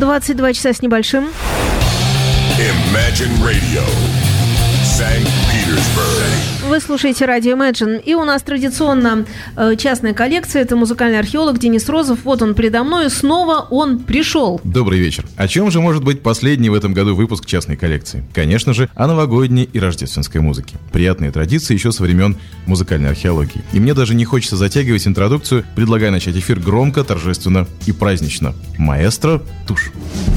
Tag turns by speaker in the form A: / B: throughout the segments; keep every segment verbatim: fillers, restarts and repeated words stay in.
A: двадцать два часа с небольшим.
B: Imagine Radio, Санкт-Петербург.
A: Вы слушаете радио Imagine, и у нас традиционно э, частная коллекция. Это музыкальный археолог Денис Розов. Вот он передо мной, снова он пришел.
C: Добрый вечер. О чем же может быть последний в этом году выпуск частной коллекции? Конечно же, о новогодней и рождественской музыке. Приятные традиции еще со времен музыкальной археологии. И мне даже не хочется затягивать интродукцию, предлагая начать эфир громко, торжественно и празднично. Маэстро, тушь.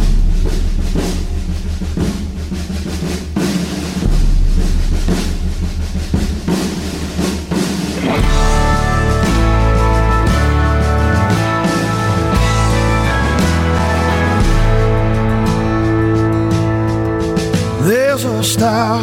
D: There's a star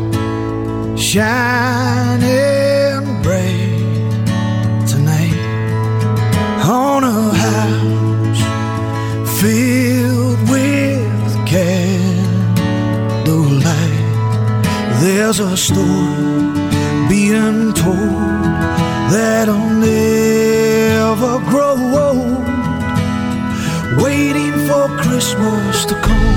D: shining bright tonight on a house filled with candlelight. There's a story being told that'll never grow old, waiting for Christmas to come.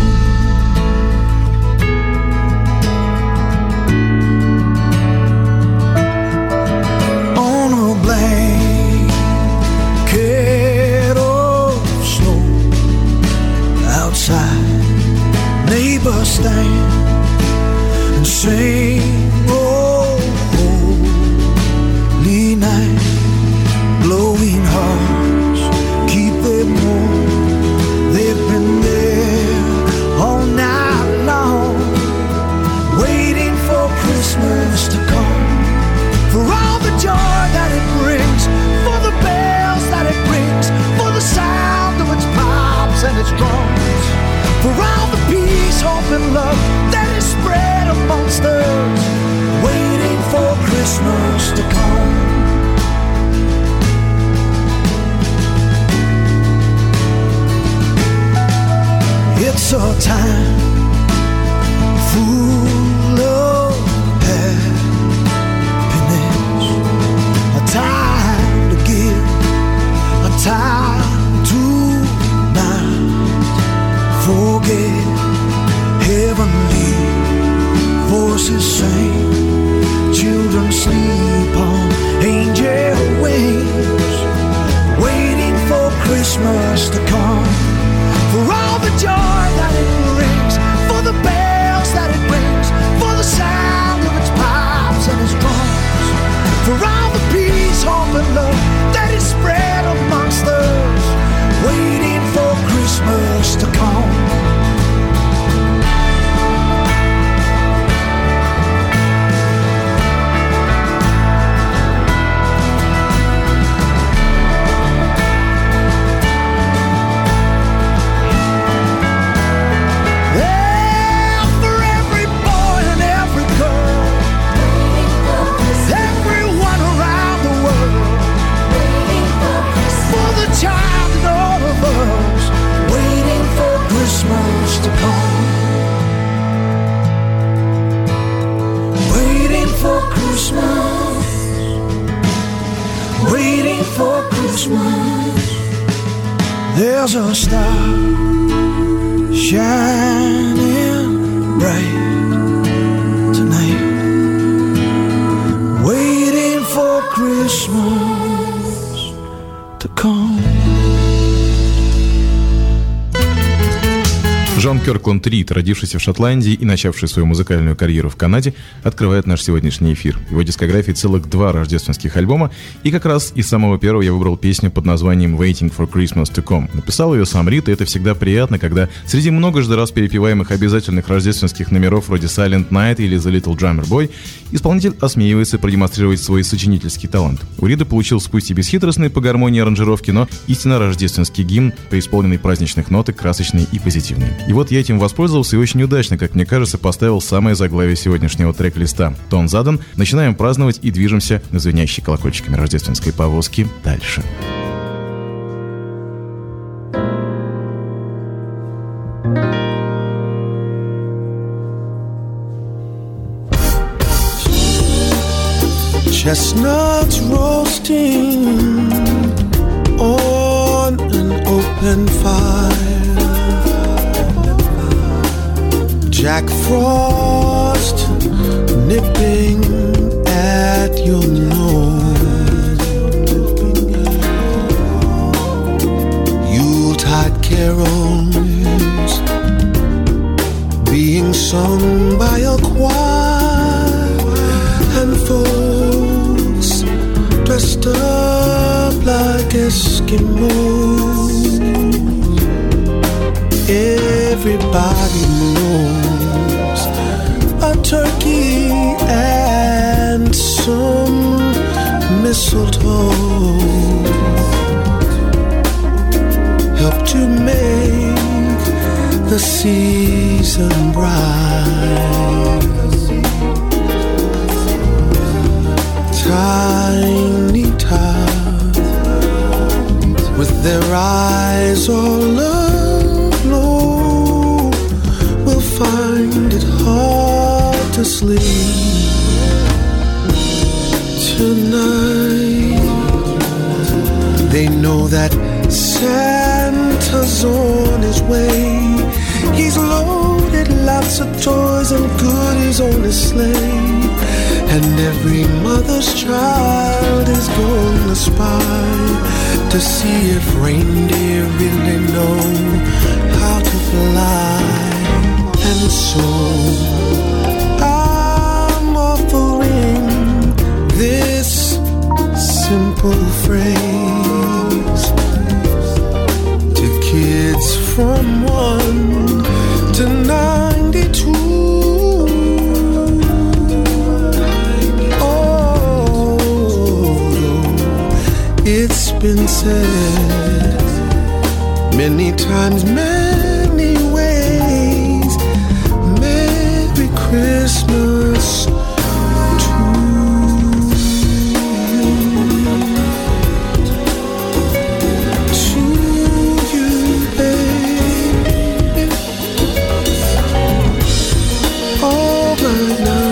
D: Neighbors stand and sing, oh, holy night. Glowing hearts keep them warm. They've been there all night long, waiting for Christmas to come. For all the joy that it brings, for the bells that it rings, for the sound of its pipes and its drums, for all the peace, hope and love that is spread amongst us, waiting for Christmas to come. It's a time full of happiness, a time to give, a time to not forget. Heavenly voices sing, children sleep on angel wings, waiting for Christmas to come. For all the joy that it brings, for the bells that it rings, for the sound of its pipes and its drums, for all the peace, hope and love that is spread amongst us, waiting for Christmas to come. To come, waiting for Christmas, waiting for Christmas. There's a star shining bright tonight, waiting for Christmas to come.
C: Джон Кёркланд Рид, родившийся в Шотландии и начавший свою музыкальную карьеру в Канаде, открывает наш сегодняшний эфир. В его дискографии целых два рождественских альбома, и как раз из самого первого я выбрал песню под названием «Waiting for Christmas to Come». Написал ее сам Рид, и это всегда приятно, когда среди многожды раз перепеваемых обязательных рождественских номеров вроде «Silent Night» или «The Little Drummer Boy» исполнитель осмеивается продемонстрировать свой сочинительский талант. У Рида получился пусть и бесхитростный по гармонии аранжировки, но истинно рождественский гимн, преисполненный праздничных ноток, красочный и позитивный. И вот я этим воспользовался и очень удачно, как мне кажется, поставил самое заглавие сегодняшнего трек-листа. Тон задан, начинаем праздновать и движемся на звенящей колокольчиками рождественской повозки дальше.
D: Chestnuts roasting on an open fire, Jack Frost nipping at your nose, Yuletide carols being sung by a choir, and folks dressed up like Eskimos. Everybody knows a turkey and some mistletoe help to make the season bright. Tiny tots with their eyes all aglow will find it hard to sleep tonight. They know that Santa's on his way. He's loaded lots of toys and goodies on his sleigh, and every mother's child is gonna spy to see if reindeer really know how to fly. And so I'm offering this simple phrase to kids from one to ninety-two. It's been said many times, many ways, Merry Christmas to you, to you, baby. All right now.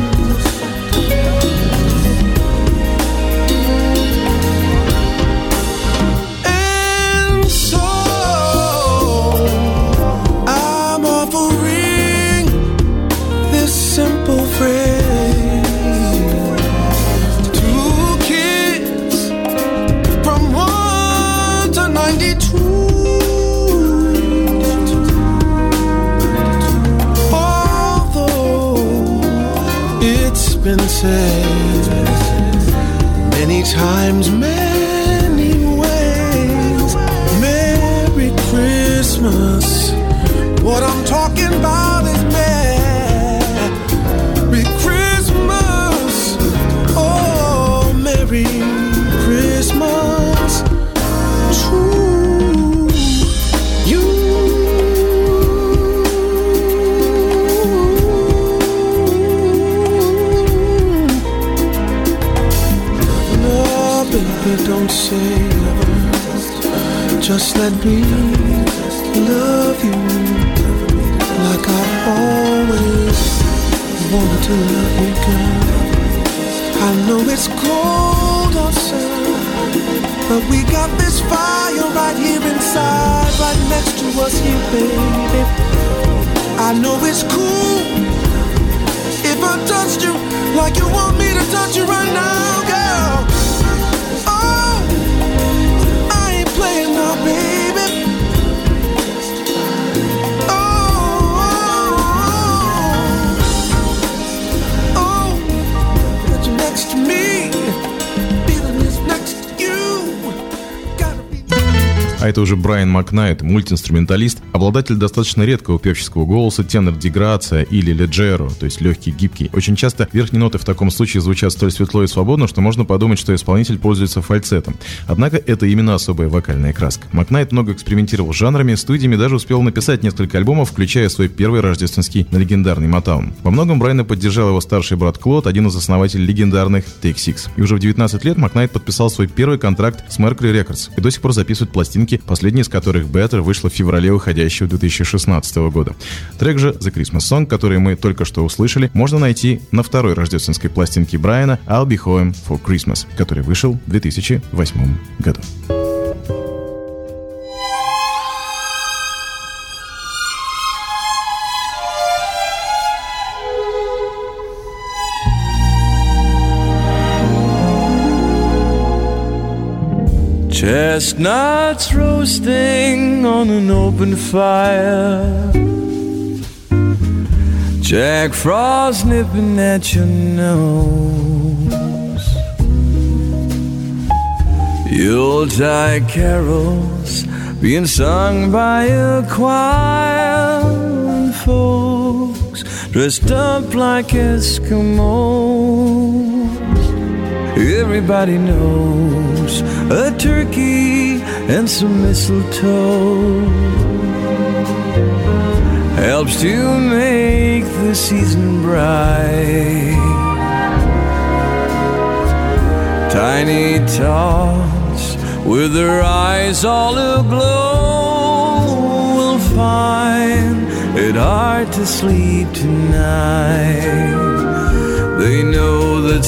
D: Been said many times, many ways, Merry Christmas. What I'm talking about is Merry Christmas. Oh, Merry Christmas to you. Don't say never, just let me love you like I always wanted to love you, girl. I know it's cold outside, but we got this fire right here inside, right next to us here, baby. I know it's cool if I touched you like you want me to touch you right now, girl. Playing now, baby. Oh, oh, oh, that you're next to me, feeling is next to you. Gotta be.
C: А это уже Брайан Макнайт, мультиинструменталист, обладатель достаточно редкого певческого голоса, тенор ди грация или леджеро, то есть легкий, гибкий. Очень часто верхние ноты в таком случае звучат столь светло и свободно, что можно подумать, что исполнитель пользуется фальцетом. Однако это именно особая вокальная краска. Макнайт много экспериментировал с жанрами, студиями, даже успел написать несколько альбомов, включая свой первый рождественский на легендарный Motown. Во многом Брайана поддержал его старший брат Клод, один из основателей легендарных Take Six. И уже в девятнадцать лет Макнайт подписал свой первый контракт с Mercury Records и до сих пор записывает пластинки, последняя из которых Better вышла в феврале уходящего две тысячи шестнадцатого года. Трек же The Christmas Song, который мы только что услышали, можно найти на второй рождественской пластинке Брайана I'll Be Home for Christmas, который вышел в две тысячи восьмом году.
E: Chestnuts roasting on an open fire, Jack Frost nipping at your nose, Yuletide carols being sung by a choir, and folks dressed up like Eskimos. Everybody knows a turkey and some mistletoe helps to make the season bright. Tiny tots with their eyes all aglow will find it hard to sleep tonight. They know that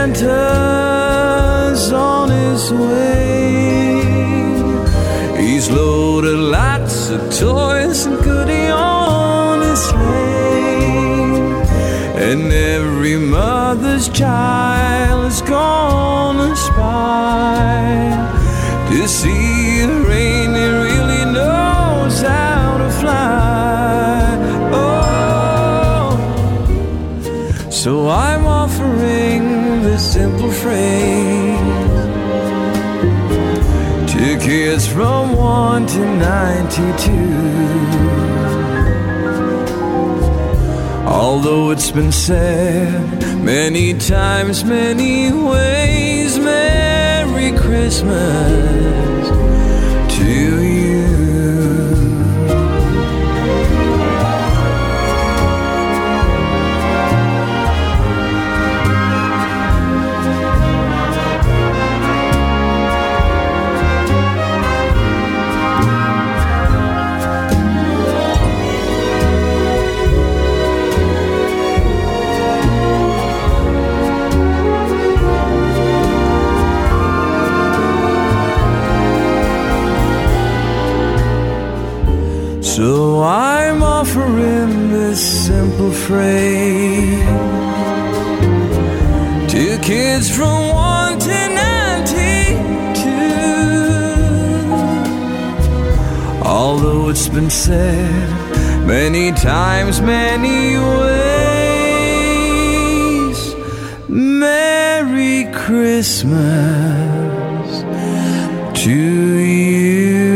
E: Santa's on his way. He's loaded lots of toys and goodies on his sleigh, and every mother's child is gonna spy to see if reindeer really knows how to fly. Oh, so I'm offering this simple phrase to kids from one to ninety-two. Although it's been said many times, many ways, Merry Christmas to you. So I'm offering this simple phrase to kids from one to ninety-two. Although it's been said many times, many ways, Merry Christmas to you.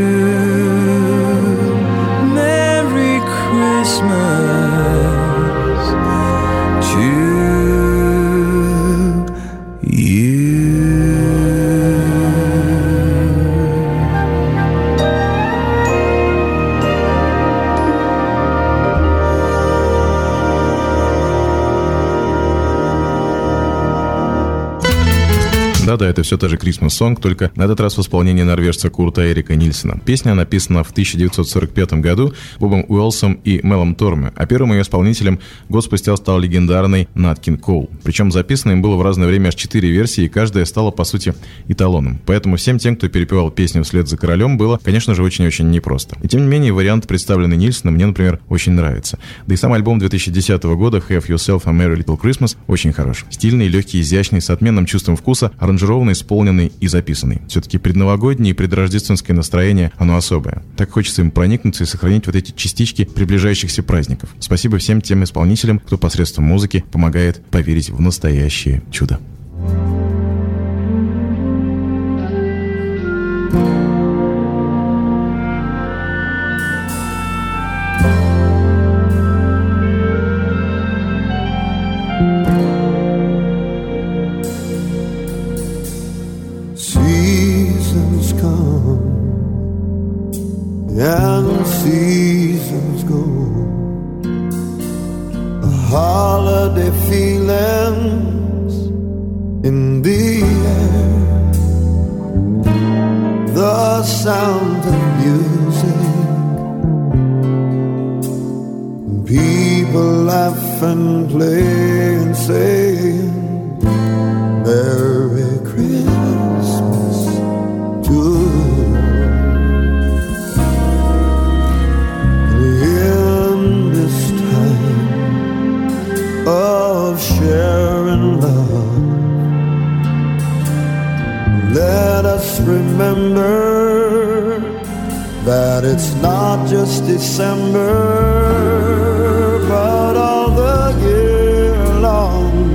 E: Christmas to you.
C: Да-да, это все та же Christmas Song, только на этот раз в исполнении норвежца Курта Эрика Нильсена. Песня написана в тысяча девятьсот сорок пятом году Бобом Уэллсом и Мелом Торме, а первым ее исполнителем год спустя стал легендарный Нат Кинг Коул. Причем записано им было в разное время аж четыре версии, и каждая стала, по сути, эталоном. Поэтому всем тем, кто перепевал песню вслед за королем, было, конечно же, очень-очень непросто. И тем не менее, вариант, представленный Нильсеном, мне, например, очень нравится. Да и сам альбом две тысячи десятого года Have Yourself a Merry Little Christmas очень хорош. Стильный, легкий, изящный, с отменным чувством вкуса, аранжированный, исполненный и записанный. Все-таки предновогоднее и предрождественское настроение, оно особое. Так хочется им проникнуться и сохранить вот эти частички приближающихся праздников. Спасибо всем тем исполнителям, кто посредством музыки помогает поверить в настоящее чудо.
D: And seasons go, holiday feelings in the air, the sound of music, people laugh and play and say Merry Christmas to you. Of sharing love, let us us remember that it's not just December, but all the year long.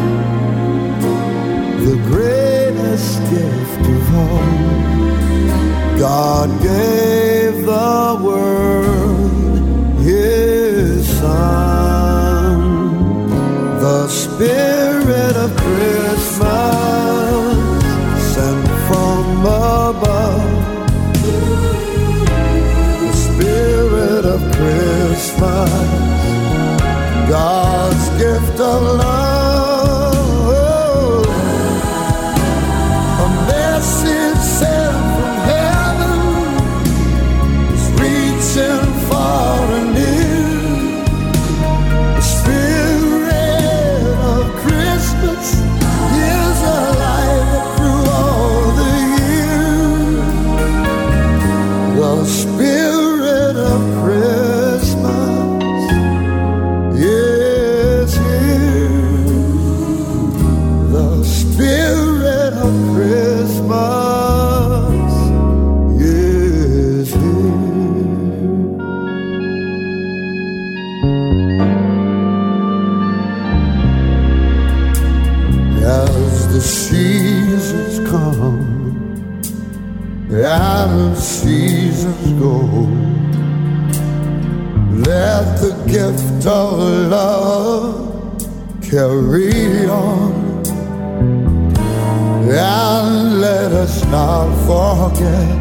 D: The greatest gift of all, God gave the world His Son. The Spirit of Christmas sent from above. The Spirit of Christmas, God's gift of love. A message sent from heaven is reaching far and near. The Spirit of Christmas is alive through all the year. The Spirit of Christmas is here. The Spirit of Christmas is here. As the seasons come and seasons go, let the gift of love carry on, and let us not forget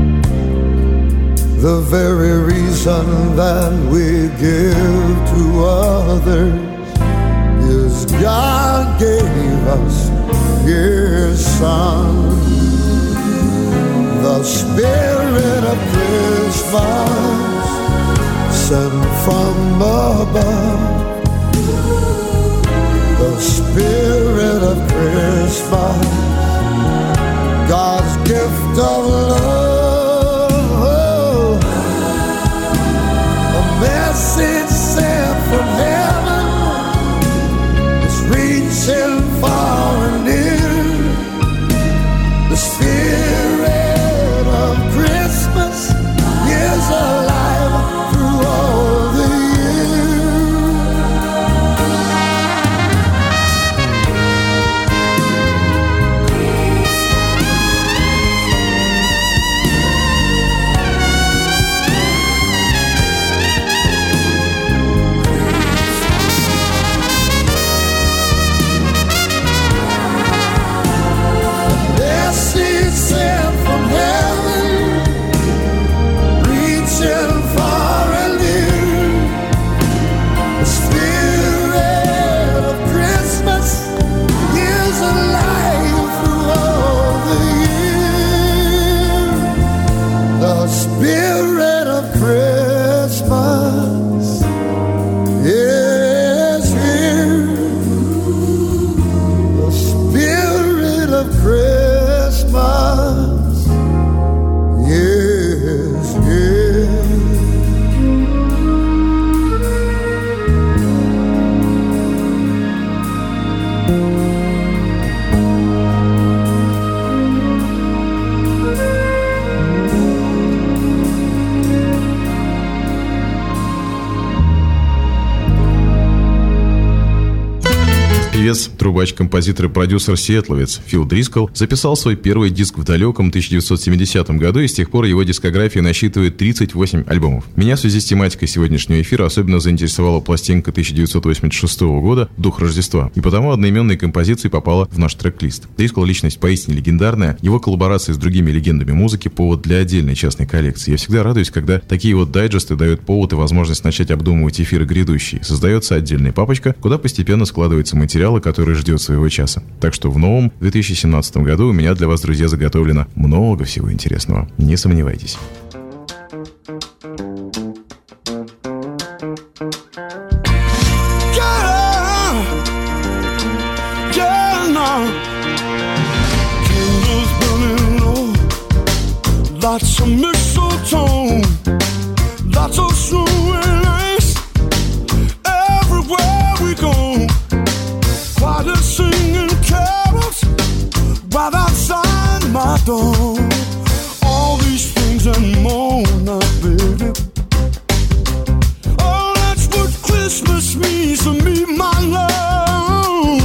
D: the very reason that we give to others is God gave us His Son. The Spirit of Christmas sent from above. The Spirit of Christmas, God's gift of love. A message sent from heaven is reaching far and near. The Spirit of Christmas is alive through all the Spirit of Christmas is here. The Spirit of Christmas is here.
C: Певец, трубач, композитор и продюсер-сиэтловец Фил Дрискл записал свой первый диск в далеком тысяча девятьсот семидесятом году, и с тех пор его дискография насчитывает тридцать восемь альбомов. Меня в связи с тематикой сегодняшнего эфира особенно заинтересовала пластинка тысяча девятьсот восемьдесят шестого года «Дух Рождества», и потому одноименной композицией попала в наш трек-лист. Дрискл — личность поистине легендарная, его коллаборации с другими легендами музыки — повод для отдельной частной коллекции. Я всегда радуюсь, когда такие вот дайджесты дают повод и возможность начать обдумывать эфиры грядущие. Создается отдельная папочка, куда постепенно складывается материал, который ждет своего часа. Так что в новом две тысячи семнадцатом году у меня для вас, друзья, заготовлено много всего интересного. Не сомневайтесь.
F: Lots of mistletoe, lots of snow and ice. Everywhere we go, choirs singing carols right outside my done all these things and more now, baby. Oh, that's what Christmas means to me, my love.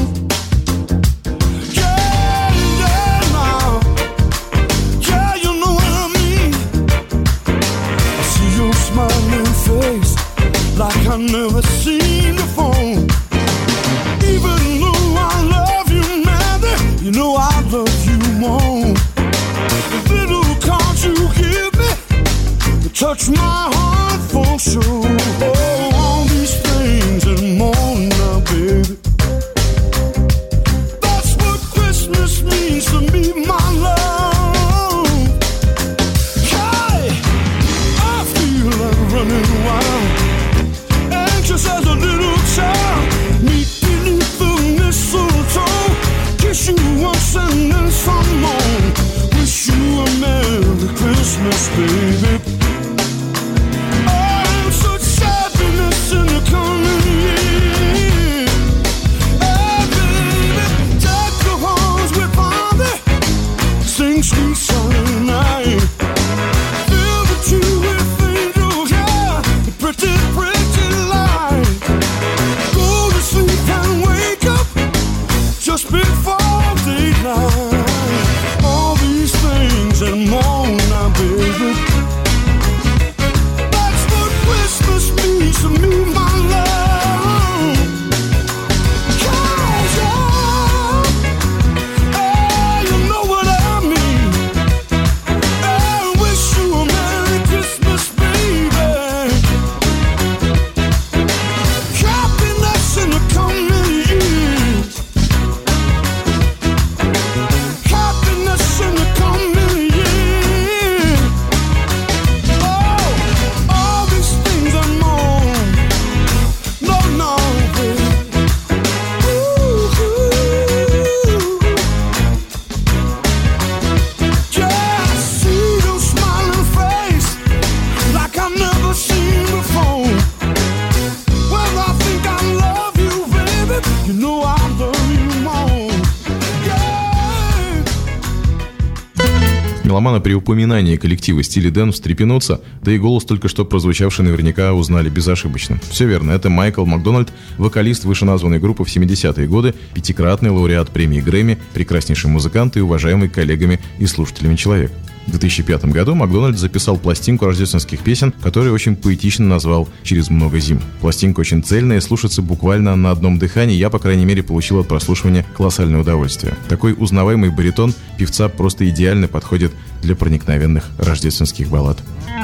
F: Yeah, yeah, now. Yeah, you know what I mean. I see your smiling face like I've never seen before. Even though I love you, man, you know I love you more. The little cards you give me, you touch my heart for sure. Oh, all these things and more now, baby. That's what Christmas means to me, my love. Hey, I feel like running wild, anxious as a little child. Meet beneath the mistletoe, kiss you once and then some more. Wish you a Merry Christmas, baby. Oh, such happiness in the coming year. Hey, baby, deck the halls with father, sing sweet silent night. Fill the tree with angels, yeah, pretty, pretty light. Go to sleep and wake up just before daylight. All these things and more now, baby. That's what Christmas means to me, my love. Yeah, yeah. Hey, you know what I mean. I wish you a Merry Christmas, baby. Happiness in the coming years. Happiness in the coming years. Oh, all these things and more. No, no, baby. Ooh, yeah, I see your smiling face like I've never seen before. Well, I think I love you, baby. You know I love you more. Yeah.
C: Меломаны при упоминании коллектива Steely Dan встрепенутся, да и голос, только что прозвучавший, наверняка узнали безошибочно. Все верно, это Майкл Макдональд, вокалист вышеназванной группы в семидесятые годы, пятикратный лауреат премии Грэмми, прекраснейший музыкант и уважаемый коллегами и слушателями человек. В две тысячи пятом году Макдональд записал пластинку рождественских песен, которую очень поэтично назвал «Через много зим». Пластинка очень цельная, слушается буквально на одном дыхании. Я, по крайней мере, получил от прослушивания колоссальное удовольствие. Такой узнаваемый баритон певца просто идеально подходит для проникновенных рождественских баллад.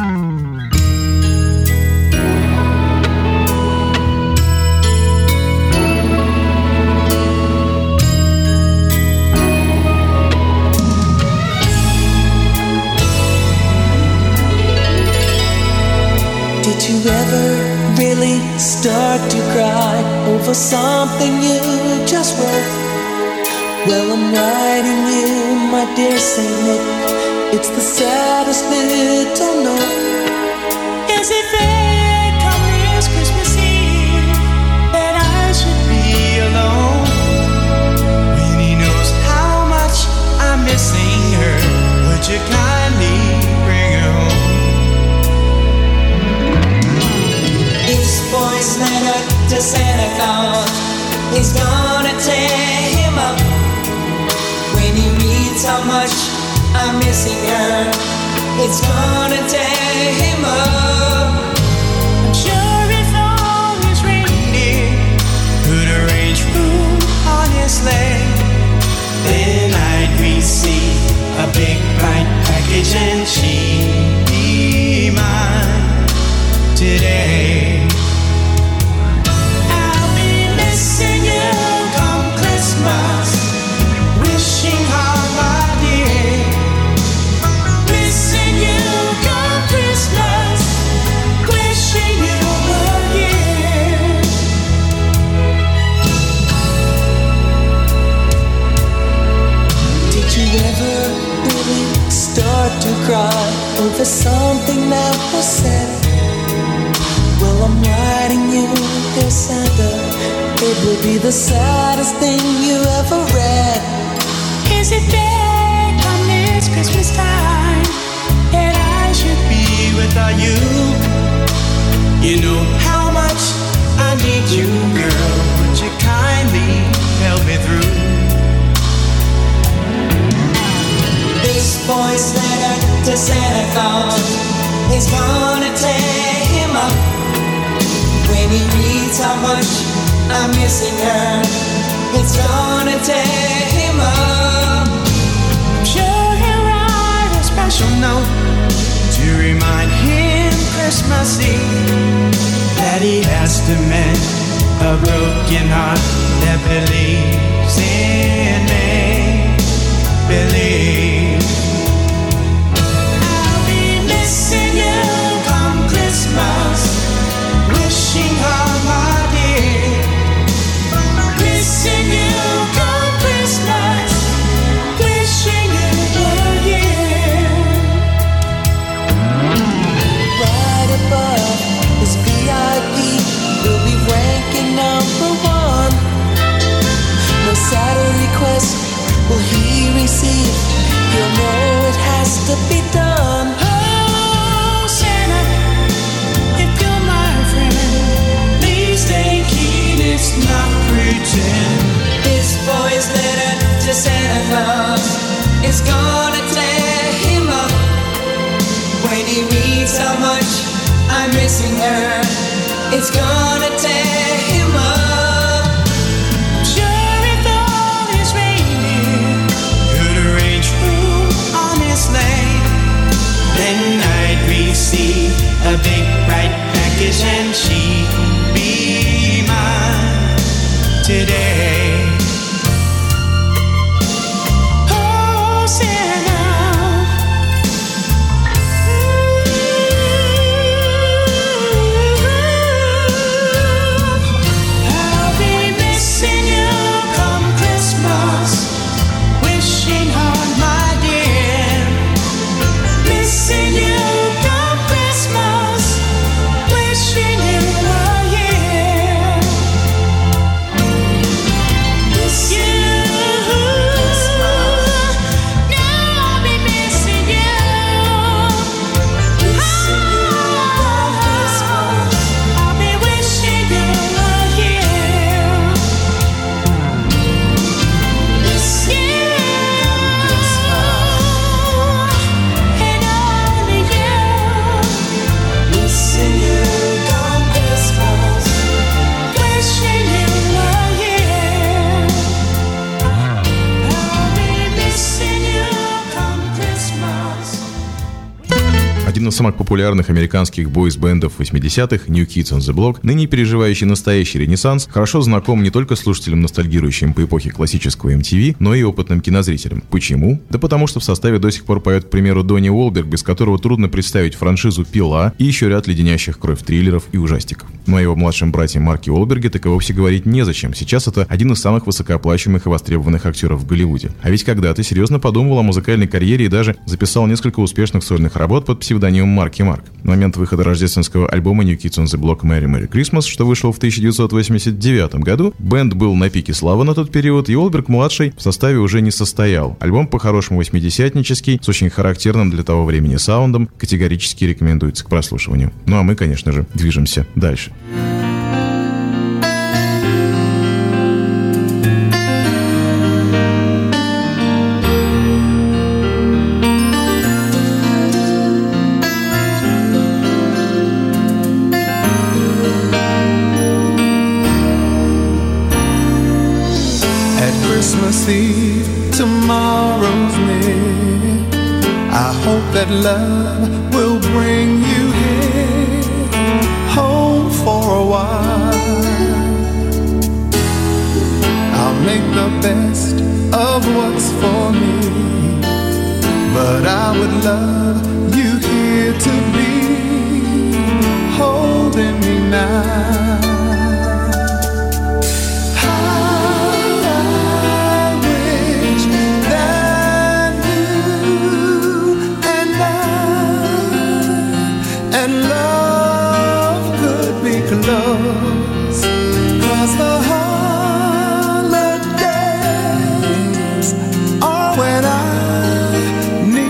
G: Did you ever really start to cry over something you just wrote? Well, I'm writing you, my dear Saint Nick. It's the saddest little note. Is it fair come this Christmas Eve that I should be alone when he knows how much I'm missing her? Would you kindly bring her home? This boy's letter to Santa Claus is gonna tear him up when he reads how much I'm missing her. It's gonna tear him up. I'm sure if all his reindeer could arrange food on his sleigh, then I'd receive a big bright package and she'd be mine today. I'll be missing you come Christmas, wishing hard, my dear. Missing you come Christmas, wishing you were here. Did you ever really start to cry over something that was said? Well, I'm writing you, dear Santa. It will be the saddest thing you ever read. Is it dead on this
H: it's Christmas time and I should be without you. You know how much I need you, girl. Would you kindly help me through?
G: This boy's letter to Santa Claus is gonna tear him up when he reads how much I'm missing her. It's gonna tear him up.
H: I'm sure he'll write a special note to remind him Christmas Eve that he has to mend a broken heart that believes in me. Believe. I'll be missing you come Christmas, wishing hard, my dear. Missing you come Christmas, wishing you were here.
I: Right above this V I P, we'll be ranking number one. No sadder request will he receive? He'll know it has to be done.
H: Oh, Santa, if you're my friend, please take heed, it's not pretend.
G: This boy's letter to Santa Claus is gonna tear him up when he reads how much I'm missing her. It's gonna tear him up.
H: Sure, if all his reindeer could arrange room on his sleigh, then I'd receive a big bright package and she'd be mine today. Oh, Santa, I'll be missing you come Christmas, wishing hard, my dear. Missing you come Christmas, wishing you were here. Miss you, now I'll be missing you. I'll be wishing you were here. Miss you, and only you.
G: Missing you come Christmas.
H: Wishing you were here. I'll be missing you come Christmas.
C: Один из самых популярных американских бойс-бендов восьмидесятых, New Kids on the Block, ныне переживающий настоящий ренессанс, хорошо знаком не только слушателям, ностальгирующим по эпохе классического эм ти ви, но и опытным кинозрителям. Почему? Да потому что в составе до сих пор поет, к примеру, Донни Уолберг, без которого трудно представить франшизу «Пила» и еще ряд леденящих кровь триллеров и ужастиков. Ну а его младшем брате Марке Уолберге так и вовсе говорить незачем. Сейчас это один из самых высокооплачиваемых и востребованных актеров в Голливуде. А ведь когда-то серьезно подумывал о музыкальной карьере и даже записал несколько успешных сольных работ под псевдонимом Марки Марк. В момент выхода рождественского альбома New Kids on the Block Merry Merry Christmas, что вышел в тысяча девятьсот восемьдесят девятом году, бенд был на пике славы на тот период, и Уолберг-младший в составе уже не состоял. Альбом по-хорошему восьмидесятнический, с очень характерным для того времени саундом, категорически рекомендуется к прослушиванию. Ну а мы, конечно же, движемся дальше.
D: At Christmas Eve, tomorrow's near. I hope that love will bring you here, home for a while. I'll make the best of what's for me, but I would love you here to be, holding me now. Close, 'cause the holidays are when I need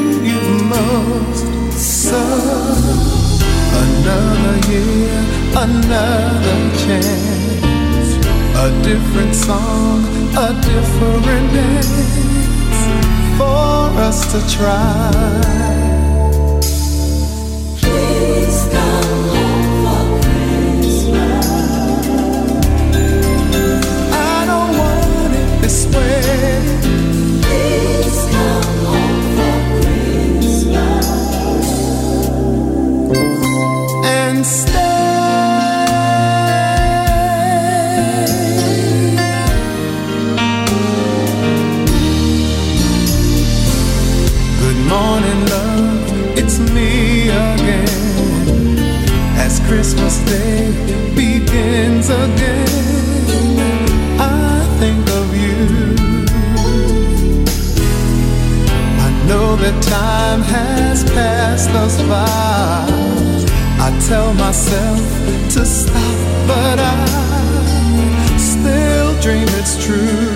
J: closer. Another year, another chance. A different song, a different dance for us to try.
I: Please come home for Christmas.
J: I don't want it this way.
I: Please come home for Christmas
J: and stay. Good morning, love, it's me again. As Christmas Day begins again, I think of you. I know that time has passed us by. I tell myself to stop, but I still dream it's true.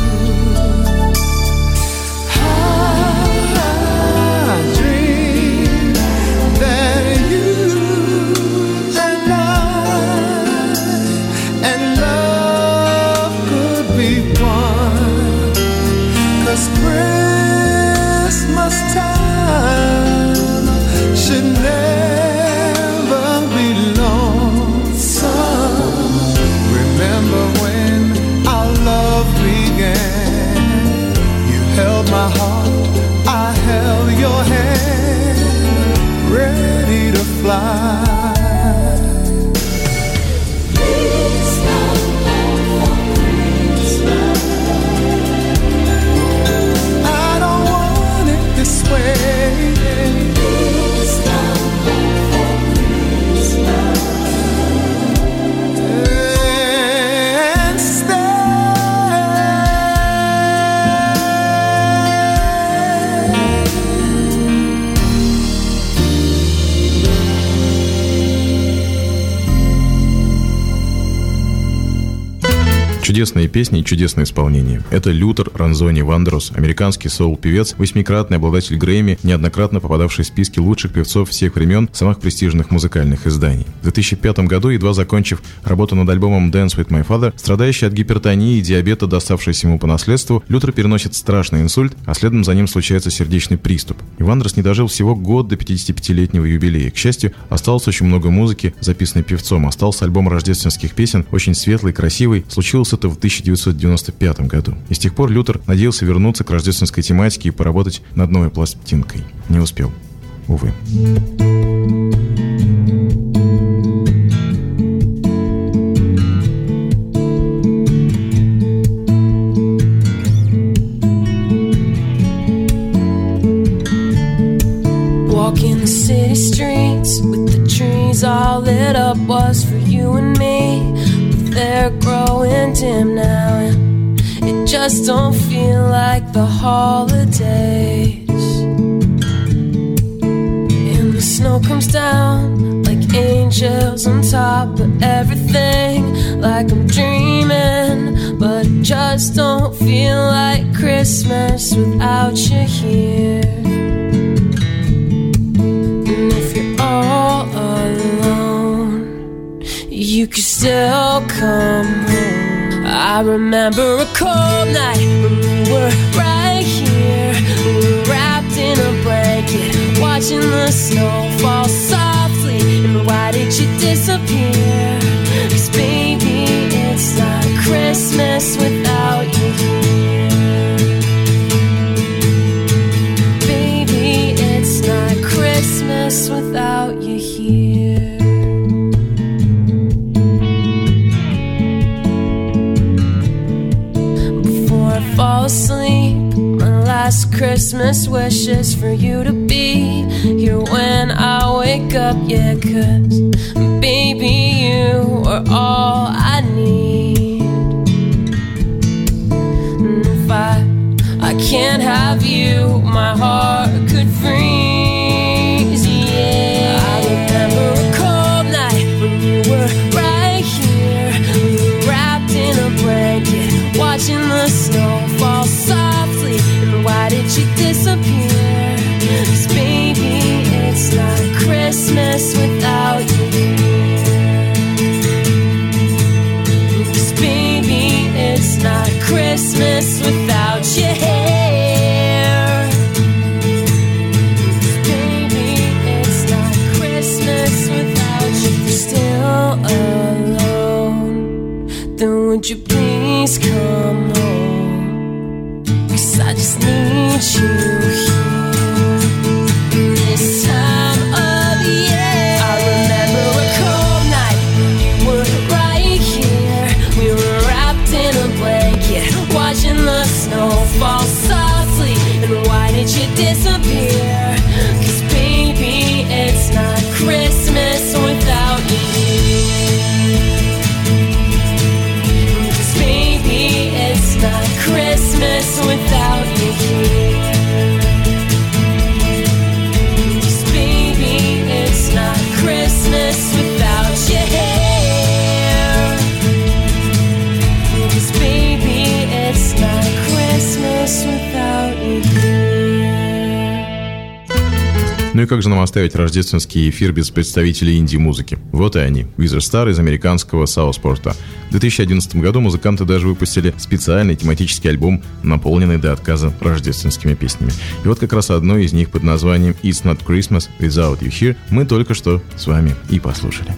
J: I dream that you and I and love could be one. 'Cause Christmas time should never be lonesome. Remember when our love began? You held my heart, I held your hand, ready to fly.
I: Please come home for Christmas.
J: I don't want it this way.
I: Please come home for Christmas
J: and stay.
C: Чудесные песни и чудесное исполнение. Это Лютер Ранзони Вандерос, американский соул-певец, восьмикратный обладатель Грэмми, неоднократно попадавший в списки лучших певцов всех времен самых престижных музыкальных изданий. В две тысячи пятом году, едва закончив работу над альбомом Dance with My Father, страдающий от гипертонии и диабета, доставшийся ему по наследству, Лютер переносит страшный инсульт, а следом за ним случается сердечный приступ. И Вандерос не дожил всего год до пятидесятипятилетнего юбилея. К счастью, осталось очень много музыки, записанной певцом. Остался альбом рождественских песен, очень светлый, красивый. Случилось это в тысяча девятьсот девяносто пятом году. И с тех пор Лютер надеялся вернуться к рождественской тематике и поработать над новой пластинкой. Не успел. Увы.
E: Walking the city streets with the trees all lit up was for you and me. They're growing dim now, and it just don't feel like the holidays. And the snow comes down like angels on top of everything, like I'm dreaming, but it just don't feel like Christmas without you here. And if you're all alone, you can still come home. I remember a cold night when we were right here. We were wrapped in a blanket, watching the snow fall softly. And why did you disappear? 'Cause baby, it's not Christmas without you here. Baby, it's not Christmas without you here. Fall asleep, my last Christmas wish is for you to be here when I wake up, yeah, 'cause baby, you are all I need. And if I, I can't have you, my heart could freeze, yeah. I remember a cold night when you were right here. We were wrapped in a blanket, watching the snow fall softly. And why did you disappear? 'Cause baby,
C: Ну и как же нам оставить рождественский эфир без представителей инди-музыки? Вот и они, Wizard Star из американского Саутпорта. В две тысячи одиннадцатом году музыканты даже выпустили специальный тематический альбом, наполненный до отказа рождественскими песнями. И вот как раз одно из них под названием «It's Not Christmas Without You Here» мы только что с вами и послушали.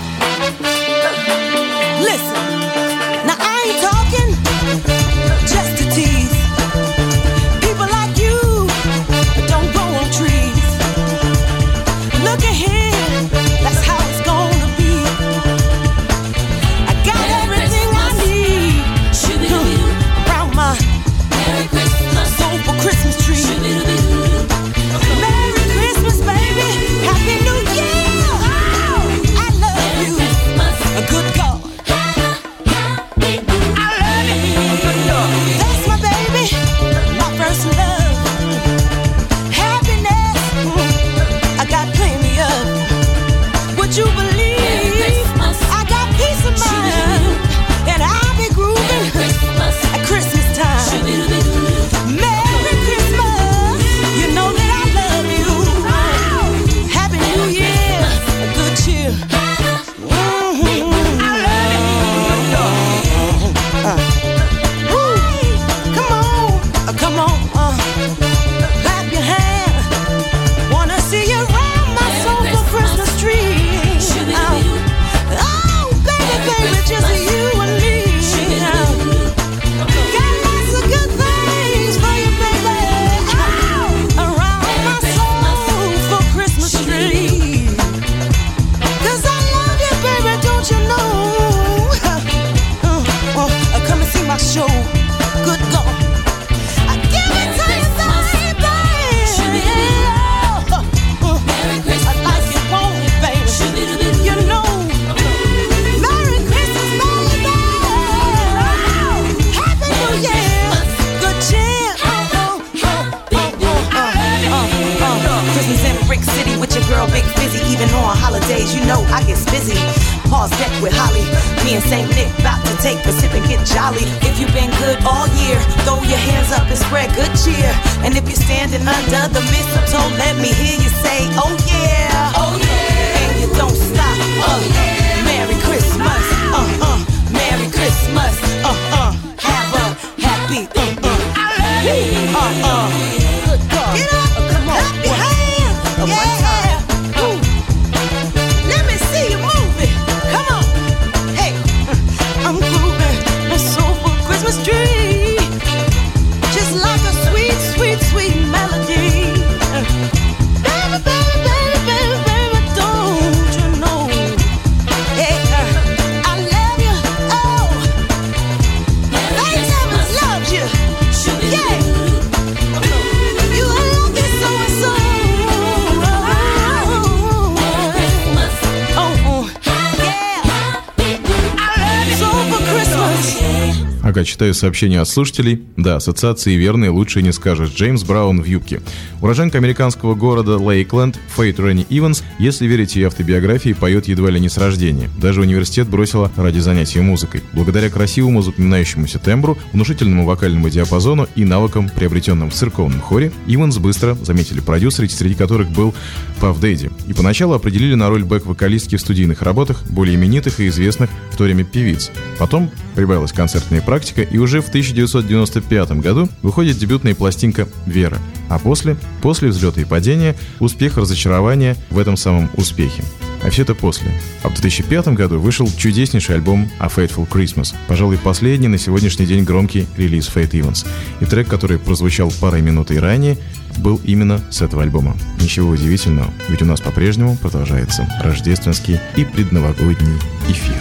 C: Ага, читаю сообщения от слушателей. Да, ассоциации верные, лучше не скажешь. Джеймс Браун в юбке. Уроженка американского города Лейкленд, Фейт Ренни Иванс, если верить ее автобиографии, поет едва ли не с рождения. Даже университет бросила ради занятия музыкой. Благодаря красивому запоминающемуся тембру, внушительному вокальному диапазону и навыкам, приобретенным в церковном хоре, Иванс быстро заметили продюсеры, среди которых был Паф Дэдди. И поначалу определили на роль бэк-вокалистки в студийных работах более именитых и известных в то время певиц. Потом прибавилась концертная практика, и уже в тысяча девятьсот девяносто пятом году выходит дебютная пластинка «Вера». А после, после взлета и падения, успех, разочарование в этом самом успехе. А все это после. А в две тысячи пятом году вышел чудеснейший альбом «A Fateful Christmas», пожалуй, последний на сегодняшний день громкий релиз Фейт Иванс. И трек, который прозвучал парой минут ранее, был именно с этого альбома. Ничего удивительного, ведь у нас по-прежнему продолжается рождественский и предновогодний эфир.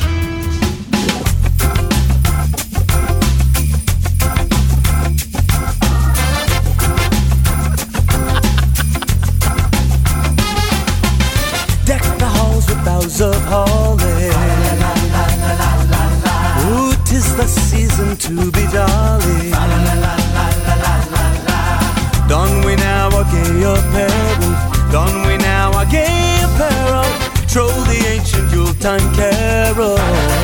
K: Of holly, ooh, 'tis the season to be jolly. Don we now a gay apparel, don we now a gay apparel, troll the ancient Yuletime carol.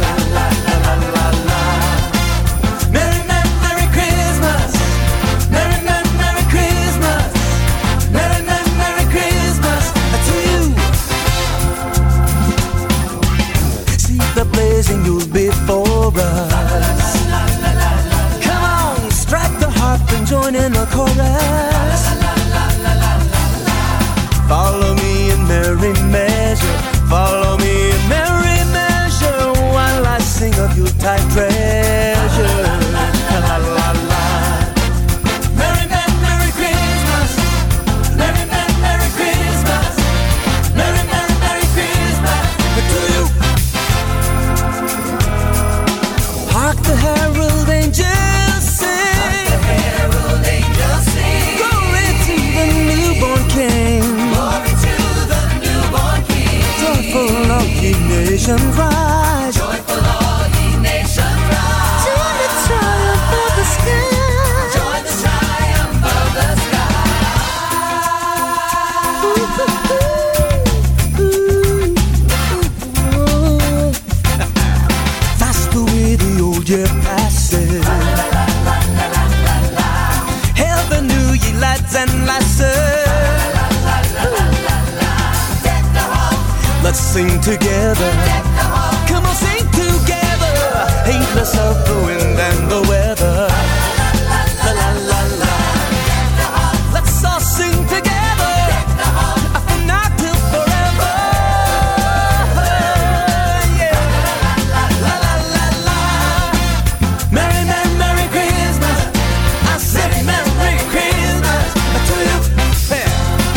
K: Merry, merry, merry Christmas, merry, merry, merry Christmas, merry, merry, merry Christmas.
F: nations rise.
L: Joyful all ye nations rise.
F: To the triumph of the sky.
L: Join the triumph of the
F: sky. That's the way the old year passes. Hail the new ye lads and lasses. Let's sing together. Come on, sing together. Heedless of the wind and the weather. La la la la. Let's all sing together. From now till forever. Yeah. La la la la. Merry, merry, merry Christmas. I said Merry Christmas to you. Yeah.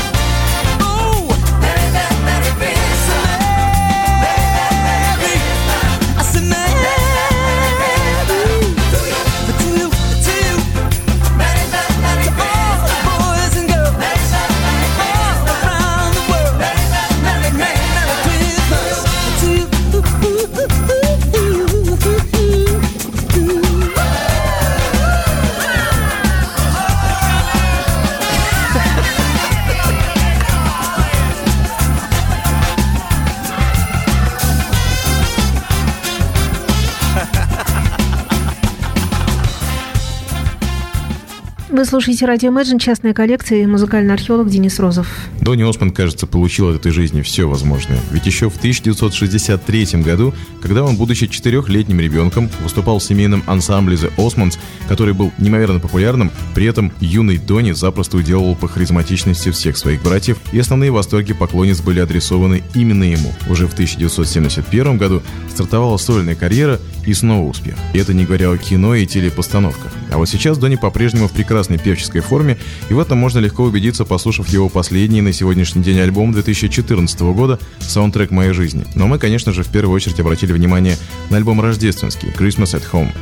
A: Вы слушаете радио Imagine, частная коллекция, и музыкальный археолог Денис Розов.
C: Донни Осмонд, кажется, получил от этой жизни все возможное. Ведь еще в тысяча девятьсот шестьдесят третьем году, когда он, будучи четырехлетним ребенком, выступал в семейном ансамбле The Osmonds, который был неимоверно популярным, при этом юный Донни запросто уделывал по харизматичности всех своих братьев, и основные восторги поклонниц были адресованы именно ему. Уже в тысяча девятьсот семьдесят первом году стартовала сольная карьера и снова успех. И это не говоря о кино и телепостановках. А вот сейчас Донни по-прежнему в прекрасной певческой форме, и в этом можно легко убедиться, послушав его последний на сегодняшний день альбом две тысячи четырнадцатого года «Саундтрек моей жизни». Но мы, конечно же, в первую очередь обратили внимание на альбом рождественский «Christmas at Home».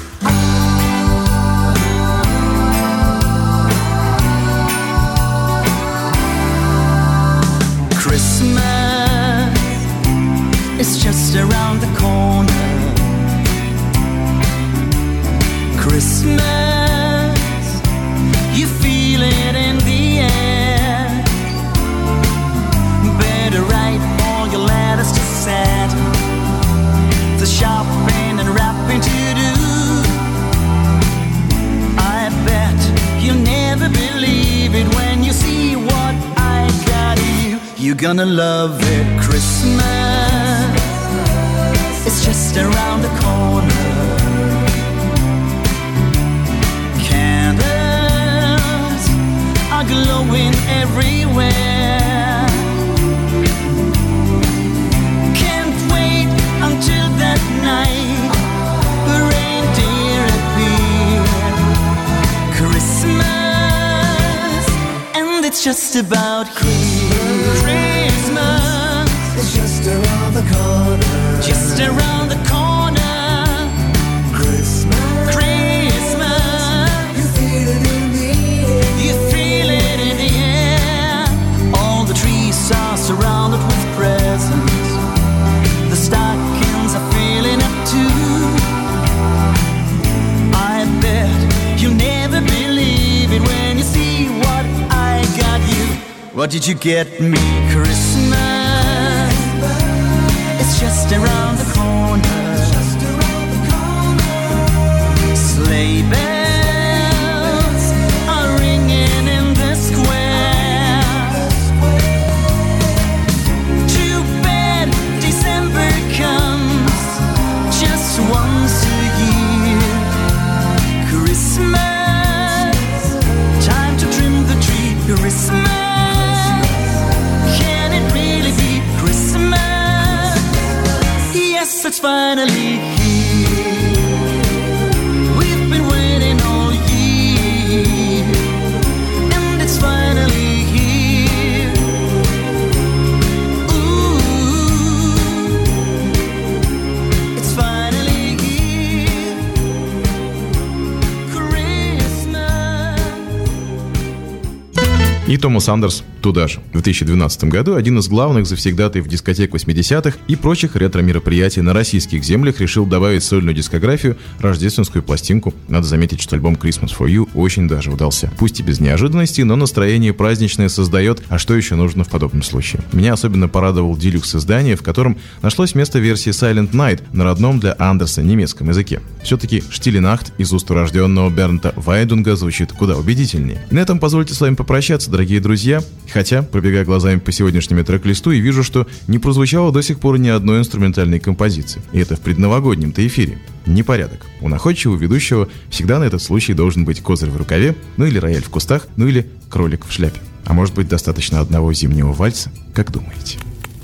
H: Christmas is just around the corner. Christmas, you feel it in the air. Better write all your letters to Santa. The shopping and wrapping to do. I bet you'll never believe it when you see what I got you. You're gonna love it. Christmas, it's just around the corner. Candles are glowing everywhere. Can't wait until that night the reindeer appear. Christmas, and it's just about here. Christmas,
F: it's just around the corner.
H: Just around the corner.
F: Christmas,
H: Christmas,
F: you feel it in the air.
H: you feel it in the air. All the trees are surrounded with presents. The stockings are filling up too. I bet you'll never believe it when you see what I got you. What did you get me? Christmas, it's just around the corner. Sleigh bells are ringing in the square. Too bad December comes just once a year. Christmas, time to trim the tree. Christmas, can it really be Christmas? Yes, it's finally here. We've been waiting all year, and it's finally here. Ooh, it's finally here. Christmas.
C: Томас Андерс туда же. В две тысячи двенадцатом году один из главных завсегдатаев дискотек восьмидесятых и прочих ретро-мероприятий на российских землях решил добавить в сольную дискографию рождественскую пластинку. Надо заметить, что альбом Christmas for You очень даже удался. Пусть и без неожиданностей, но настроение праздничное создает, а что еще нужно в подобном случае? Меня особенно порадовал делюкс издание, в котором нашлось место версии Silent Night на родном для Андерса немецком языке. Все-таки Stille Nacht из уст урожденного Бернта Вайдунга звучит куда убедительнее. И на этом позвольте с вами попрощаться, дорогие друзья. Хотя, пробегая глазами по сегодняшнему трек-листу, и вижу, что не прозвучало до сих пор ни одной инструментальной композиции. И это в предновогоднем-то эфире. Непорядок. У находчивого ведущего всегда на этот случай должен быть козырь в рукаве, ну или рояль в кустах, ну или кролик в шляпе. А может быть, достаточно одного зимнего вальса? Как думаете?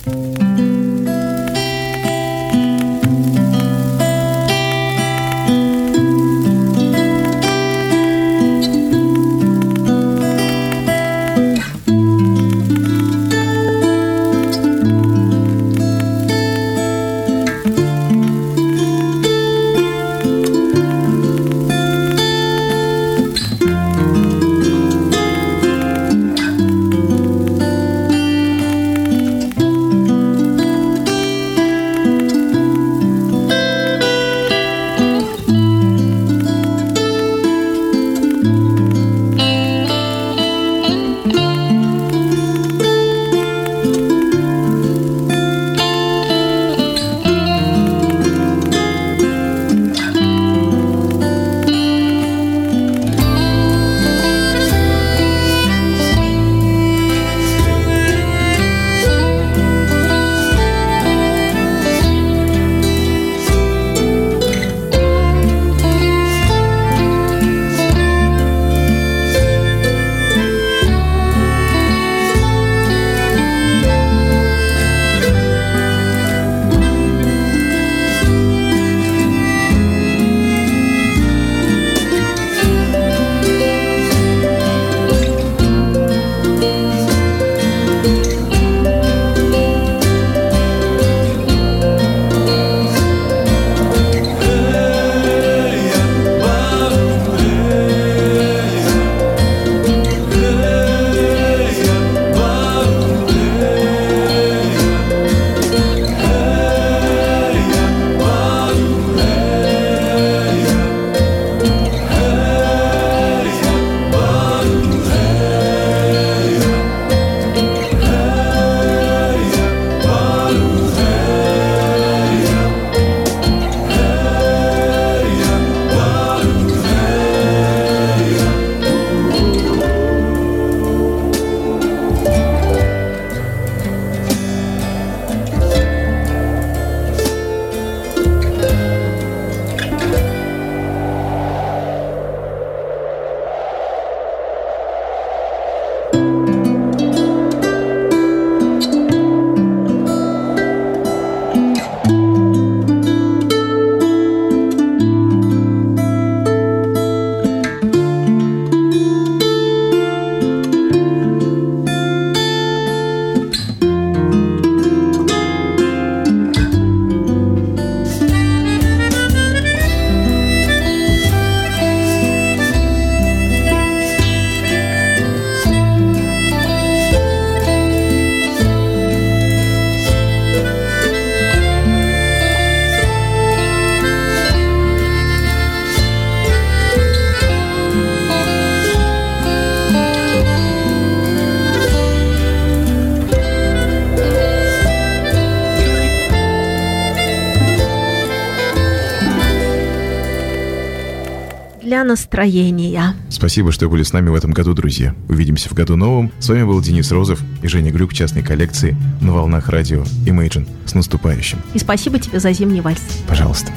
A: для настроения.
C: Спасибо, что были с нами в этом году, друзья. Увидимся в году новом. С вами был Денис Розов и Женя Глюк, частной коллекции на волнах радио Imagine. С наступающим.
A: И спасибо тебе за зимний вальс.
C: Пожалуйста.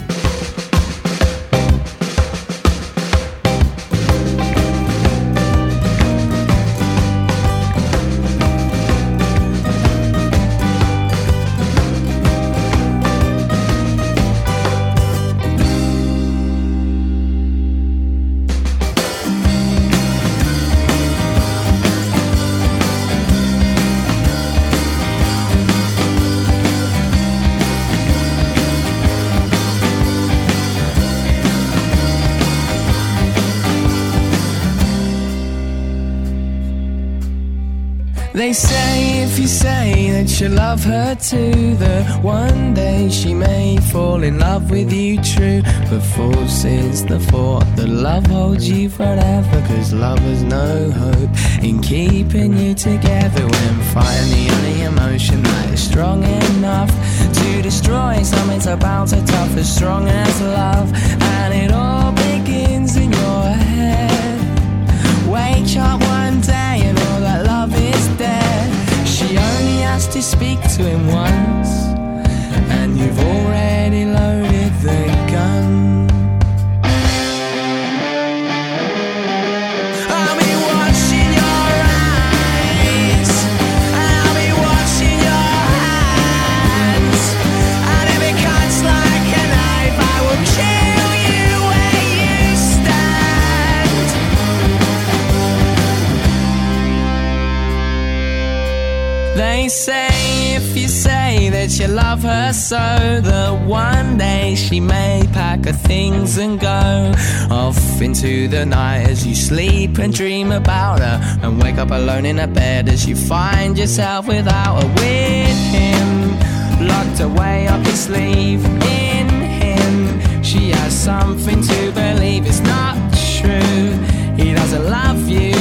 E: They say if you say that you love her too, that one day she may fall in love with you true. But false is the thought that love holds you forever, 'cause love has no hope in keeping you together. When fighting the only emotion that is strong enough to destroy something so bound so tough, as strong as love. And it all begins in your head. Wake up one day and all that love is dead. She only has to speak to him once, and you've already loaded the gun. I'll be watching your eyes, and I'll be watching your hands, and if it cuts like a knife, I will kill you where you stand. They say if you say that you love her so, that one day she may pack her things and go off into the night as you sleep and dream about her, and wake up alone in a bed as you find yourself without her. With him locked away up his sleeve, in him she has something to believe. It's not true, he doesn't love you,